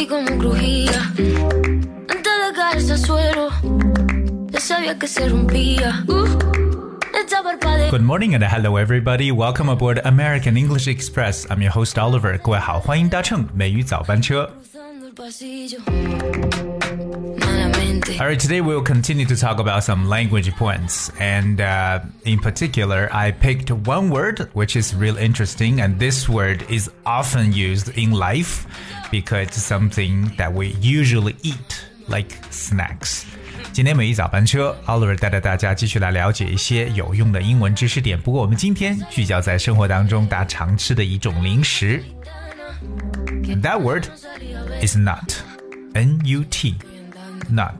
sentí como crujía. Antes de caerse al suelo, ya sabía que se rompía. Good morning and hello everybody. Welcome aboard American English Express. I'm your host Oliver. 各位好，欢迎搭乘美语早班车。Alright, today we'll continue to talk about some language points. And in particular, I picked one word which is real interesting. And this word is often used in life because it's something that we usually eat, like snacks.今天美语早班车 Oliver 带着大家继续来了解一些有用的英文知识点，不过我们今天聚焦在生活当中大家常吃的一种零食。 That word is nut. N-U-T. Nut.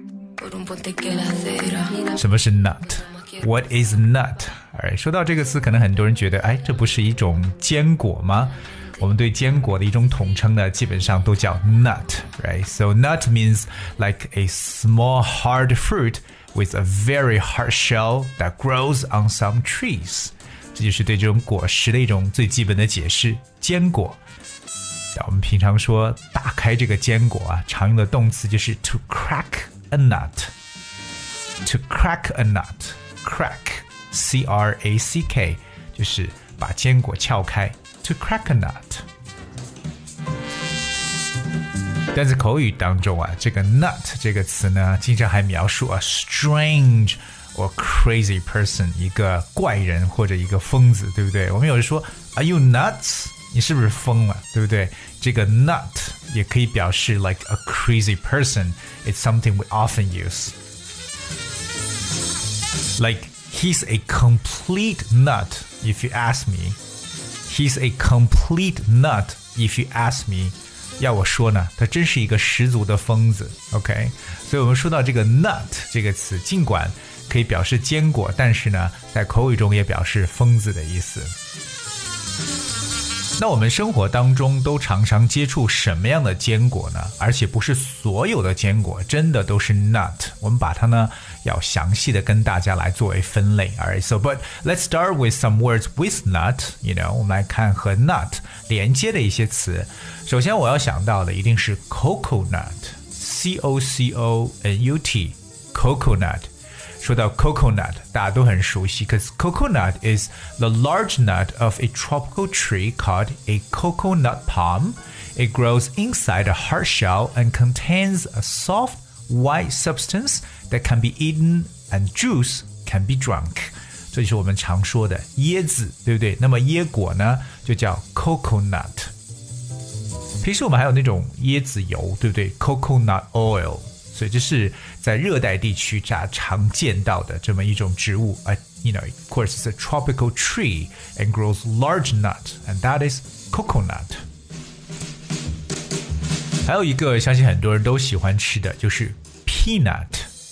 什么是 nut? What is nut? Alright, 说到这个词，可能很多人觉得，这不是一种坚果吗？我们对坚果的一种统称呢，基本上都叫 nut, right? So nut means like a small hard fruit with a very hard shell that grows on some trees. 这就是对这种果实的一种最基本的解释，坚果。我们平常说打开这个坚果啊，常用的动词就是 to crack a nut. To crack a nut. Crack, C-R-A-C-K, 就是把坚果撬开。To crack a nut. 但在口语当中啊，这个 nut 这个词呢，经常还描述 a strange or crazy person, 一个怪人或者一个疯子，对不对？我们有人说 Are you nuts? 你是不是疯了，对不对？这个 nut 也可以表示 like a crazy person. It's something we often use. Like, he's a complete nut, if you ask me.He's a complete nut, if you ask me. 要我说呢，他真是一个十足的疯子 OK? 所以我们说到这个 nut 这个词，尽管可以表示坚果，但是呢，在口语中也表示疯子的意思。那我们生活当中都常常接触什么样的坚果呢？而且不是所有的坚果真的都是 nut， 我们把它呢要详细的跟大家来作为分类。Alright, so but let's start with some words with nut. You know, 我们来看和 nut 连接的一些词。首先我要想到的一定是 coconut, C-O-C-O-N-U-T, coconut。说到 coconut 大家都很熟悉 because coconut is the large nut of a tropical tree called a coconut palm. It grows inside a hard shell and contains a soft white substance that can be eaten and juice can be drunk. 这就是我们常说的椰子，对不对？那么椰果呢就叫 coconut。 平时我们还有那种椰子油，对不对？ coconut oil。所以这是在热带地区常见到的这么一种植物。You know, of course, it's a tropical tree and grows large nut, and that is coconut. 还有一个相信很多人都喜欢吃的就是 peanut,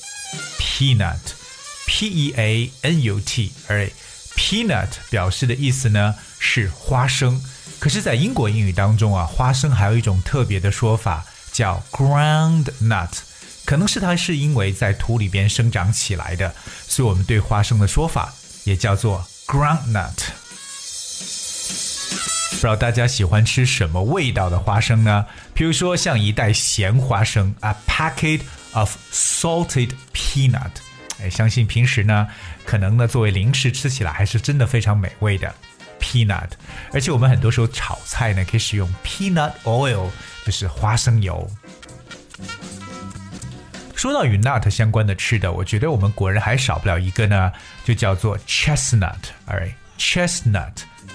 P-E-A-N-U-T. Alright, peanut 表示的意思呢是花生，可是在英国英语当中啊，花生还有一种特别的说法叫 ground nut。可能是它是因为在土里边生长起来的，所以我们对花生的说法也叫做 groundnut。 不知道大家喜欢吃什么味道的花生呢？比如说像一袋咸花生 A packet of salted peanut。 相信平时呢可能呢作为零食吃起来还是真的非常美味的 peanut。 而且我们很多时候炒菜呢可以使用 peanut oil， 就是花生油。说到与 nut 相关的吃的，我觉得我们国人还少不了一个呢，就叫做 chestnut. Alright, chestnut,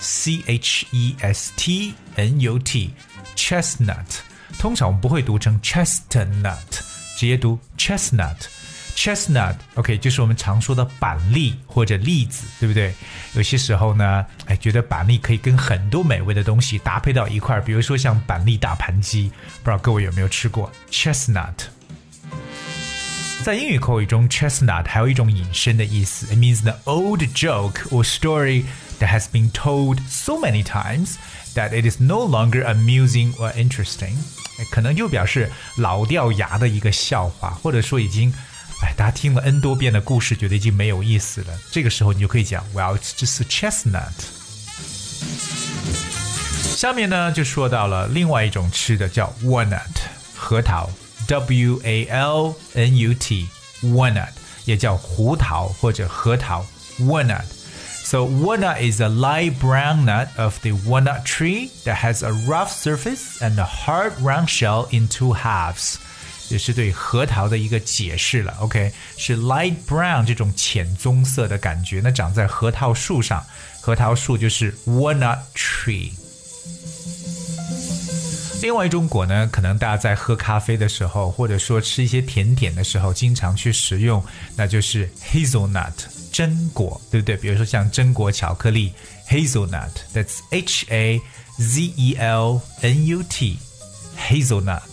C-H-E-S-T-N-U-T, chestnut. 通常我们不会读成 chestnut， 直接读 chestnut. Chestnut, OK, 就是我们常说的板栗或者栗子，对不对？有些时候呢，觉得板栗可以跟很多美味的东西搭配到一块，比如说像板栗大盘鸡，不知道各位有没有吃过 chestnut。在英语口语中 chestnut 还有一种引申的意思 It means the old joke or story that has been told so many times that it is no longer amusing or interesting. 可能就表示老掉牙的一个笑话，或者说已经大家听了 N 多遍的故事，觉得已经没有意思了。这个时候你就可以讲 Well, it's just a chestnut. 下面呢就说到了另外一种吃的叫 walnut 核桃 walnut walnut 也叫胡桃或者核桃 walnut So walnut is a light brown nut of the walnut tree that has a rough surface and a hard round shell in two halves. 这是对核桃的一个解释了 OK 是 light brown 这种浅棕色的感觉那长在核桃树上核桃树就是 walnut tree 另外一种果呢可能大家在喝咖啡的时候或者说吃一些甜点的时候经常去食用那就是 hazelnut 榛果对不对比如说像榛果巧克力 hazelnut That's H-A-Z-E-L-N-U-T hazelnut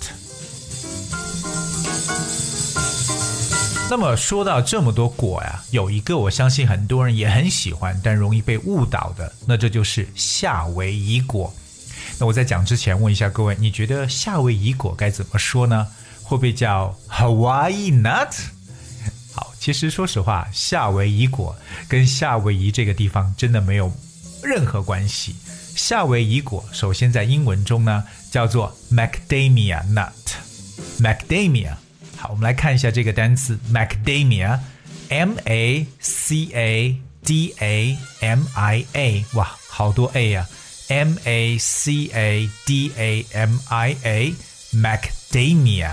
那么说到这么多果呀有一个我相信很多人也很喜欢但容易被误导的那这就是夏威夷果那我在讲之前问一下各位你觉得夏威夷果该怎么说呢会不会叫 Hawaii nut 好其实说实话夏威夷果跟夏威夷这个地方真的没有任何关系夏威夷果首先在英文中呢叫做 Macadamia nut Macadamia好我们来看一下这个单词 Macadamia M-A-C-A-D-A-M-I-A 哇好多 A 啊M-A-C-A-D-A-M-I-A Macadamia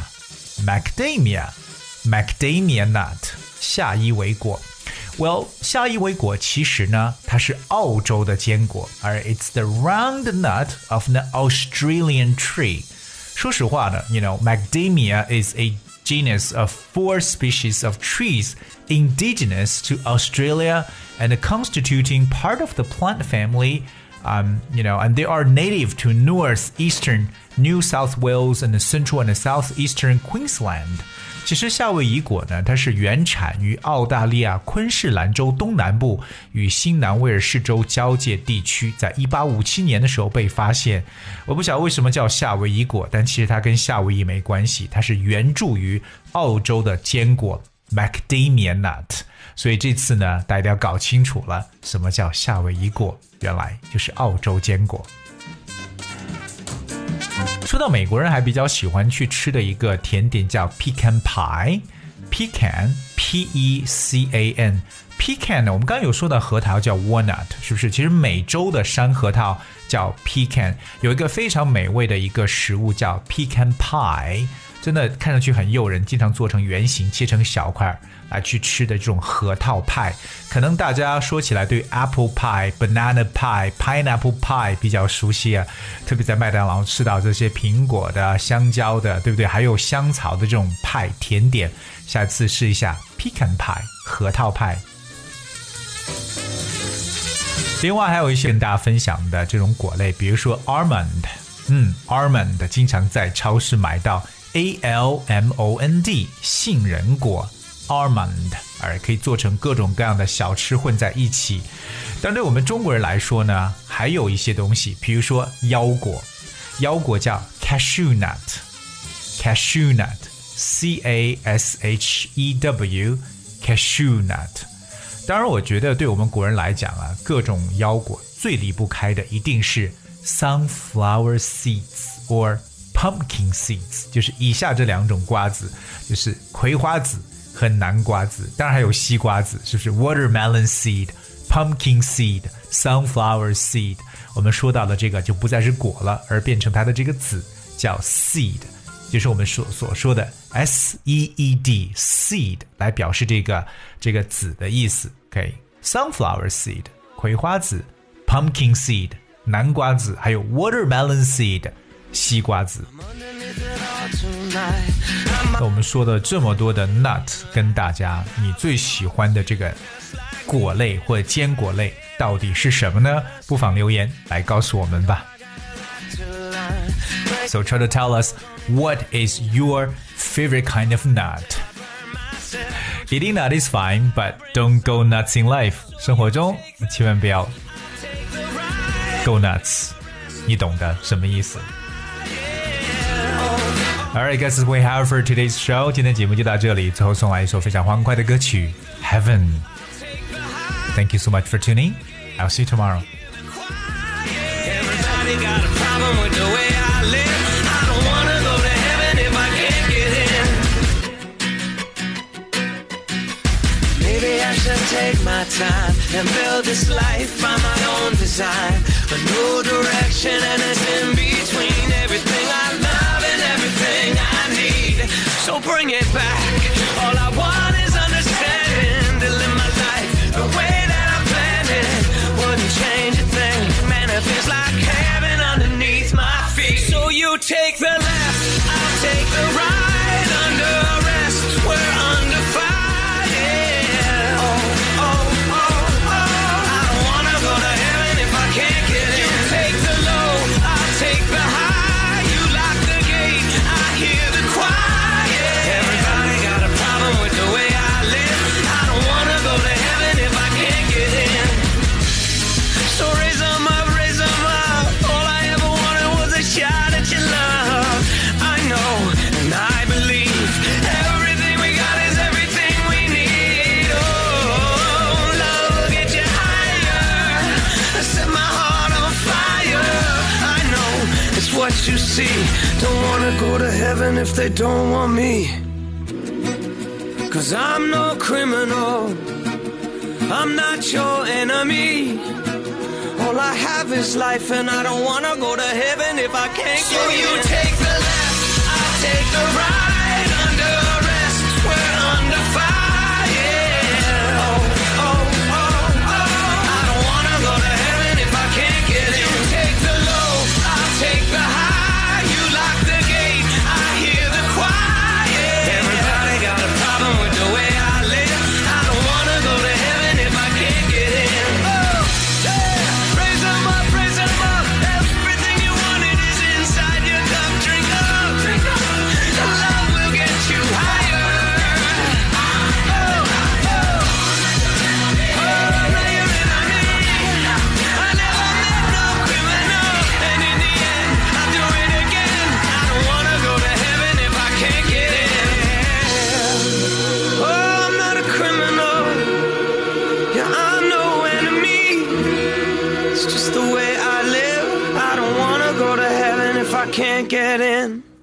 Macadamia nut 夏伊维果 Well 夏伊维果其实呢它是澳洲的坚果而 It's the round nut of an Australian tree 说实话呢 You know Macadamia is a genus of 4 species of trees indigenous to Australia and constituting part of the plant family you know, and they are native to northeastern New South Wales and central and southeastern Queensland. 其实夏威夷果呢，它是原产于澳大利亚昆士兰州东南部与新南威尔士州交界地区，在1857年的时候被发现。我不晓得为什么叫夏威夷果，但其实它跟夏威夷没关系，它是原著于澳洲的坚果 Macadamia nut。所以这次呢，大家要搞清楚了，什么叫夏威夷果？原来就是澳洲坚果。说到美国人还比较喜欢去吃的一个甜点叫 pecan pie pecan P-E-C-A-N pecan 呢我们刚刚有说到核桃叫 walnut 是不是其实美洲的山核桃叫 pecan 有一个非常美味的一个食物叫 pecan pie 真的看上去很诱人经常做成圆形切成小块来去吃的这种核桃派可能大家说起来对 apple pie banana pie pineapple pie 比较熟悉啊特别在麦当劳吃到这些苹果的香蕉的对不对还有香草的这种派甜点下次试一下 pecan pie 核桃派另外还有一些跟大家分享的这种果类比如说 almond almond 经常在超市买到A-L-M-O-N-D 杏仁果 almond 而可以做成各种各样的小吃混在一起但对我们中国人来说呢还有一些东西比如说腰果腰果叫 cashew nut C-A-S-H-E-W cashew nut 当然我觉得对我们国人来讲啊各种腰果最离不开的一定是 sunflower seeds or pumpkin seeds 就是以下这两种瓜子就是葵花籽和南瓜籽当然还有西瓜籽是不是 watermelon seed pumpkin seed sunflower seed 我们说到的这个就不再是果了而变成它的这个籽叫 seed 就是我们所说的 S-E-E-D seed 来表示这个籽的意思 OK sunflower seed 葵花籽 pumpkin seed 南瓜籽还有 watermelon seed西瓜籽那我们说的这么多的 nut 跟大家你最喜欢的这个果类或者坚果类到底是什么呢不妨留言来告诉我们吧 So try to tell us what is your favorite kind of nut Eating nut is fine but don't go nuts in life 生活中千万不要 go nuts 你懂得什么意思Alright guys, we have for today's show. 今天节目就到这里，最后送来一首非常欢快的歌曲 Heaven. Thank you so much for tuning. I'll see you tomorrow. Everybody got a problem with the way I live. I don't wanna go to heaven if I can't get in. Maybe I should take my time and build this life by my own design. A new direction and it's in between everything I love and everything I need. So bring it back. All I want is understanding to live my life the way that I planned it. Wouldn't change a thing. Man, it feels like heaven underneath my feet. So you take the left, I'll take the right. Under arrest, we're under fire. Yeah. Oh, oh, oh, oh. I don't wanna go to heaven if I can't get in. You take the low, I'll take the high. You lock the gate, I hear the quiet. Everybody got a problem with the way I live. I don't wanna go to heaven if I can't get in. So raise 'em up, raise 'em up. All I ever wanted was a shot at your love. I know and I believe everything we got is everything we need. Oh, love will get you higher. Set my heart on fire. I know it's what you see. Don't wanna go to heaven if they don't want me. 'Cause I'm no criminal. I'm not your enemy. All I have is life and I don't wanna go to heaven if I can't get in. So you take the left, I'll take the right. Under arrest, we're under fire. Yeah. Oh, oh, oh, oh. I don't wanna go to heaven if I can't get in. You take the low, I'll take the high. You lock the gate, I hear the quiet. Everybody got a problem with the way I live. I don't wanna go to heaven if I can't get in. Oh, yeah. Raise 'em up, raise 'em up. Everything you wanted is inside your cup. Drink up, drink up. Love will get you higher. Oh, oh. Oh, now you're in on me. I never met no criminal. And in the end, I'll do it again. I don't wanna go to heaven if I can't get in. Oh, I'm not a criminal. Yeah, I'm no enemy. It's just the way I live. I don't wanna go to heaven if I can't get in.